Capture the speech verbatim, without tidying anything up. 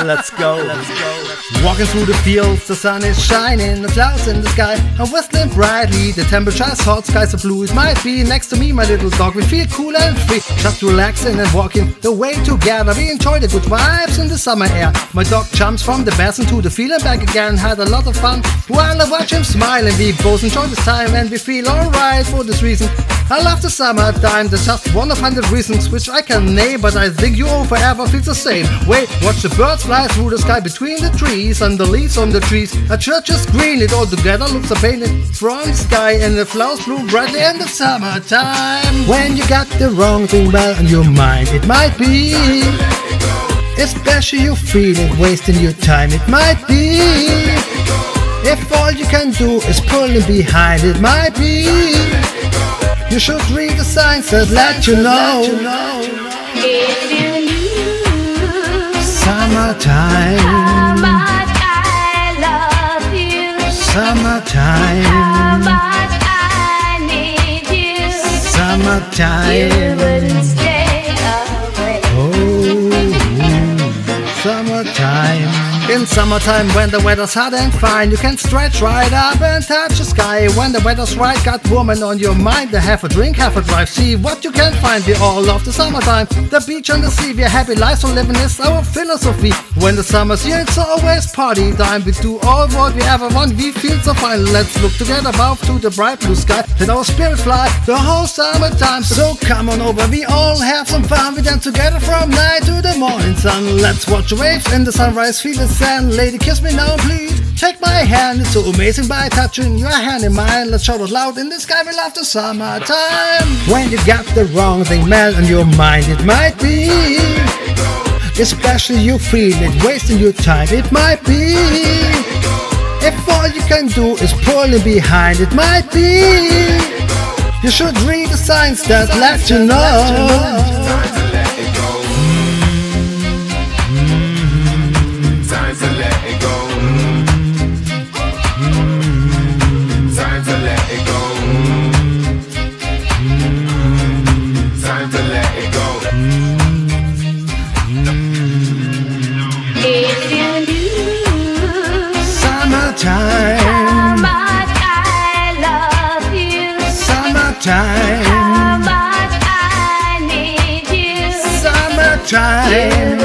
Let's go, let's go. Walking through the fields, the sun is shining, the clouds in the sky are whistling brightly. The temperature is hot, skies are blue. It might be next to me, my little dog. We feel cool and free, just relaxing and walking the way together. We enjoy the good vibes in the summer air. My dog jumps from the basin to the field and back again. Had a lot of fun while I watch him smile, and we both enjoy this time and we feel alright for this reason. I love the summertime. There's just one of hundred reasons which I can name, but I think you all forever feel the same. Wait, watch the birds fly through the sky between the trees, and the leaves on the trees. A church is green, it all together looks a painted from the sky, and the flowers bloom brightly in the summertime. When you got the wrong thing well on your mind, it might be, especially you feel it wasting your time. It might be, if all you can do is pulling behind. It might be, you should read the signs that let you know. If you knew Summertime, how much I love you, summertime, how much I need you, you summertime, wouldn't stay away. oh, summertime. In summertime, when the weather's hot and fine, you can stretch right up and touch the sky. When the weather's right, got woman on your mind. Have a drink, have a drive, see what you can find. We all love the summertime, the beach and the sea. We're happy lives for living is our philosophy. When the summer's here, it's always party time. We do all what we ever want, we feel so fine. Let's look together above to the bright blue sky. Let our spirit fly the whole summertime. So come on over, we all have some fun. We dance together from night to the morning sun. Let's watch the waves in the sunrise, feel the sand. Lady, kiss me now, please. Take my hand, it's so amazing by touching your hand in mine. Let's shout it loud in the sky, we love the summertime. When you got the wrong thing melt on your mind, it might be, especially you feel it wasting your time. It might be, if all you can do is pulling behind. It might be, you should read the signs that let you know. How much I love you, Summertime, how much I need you, summertime.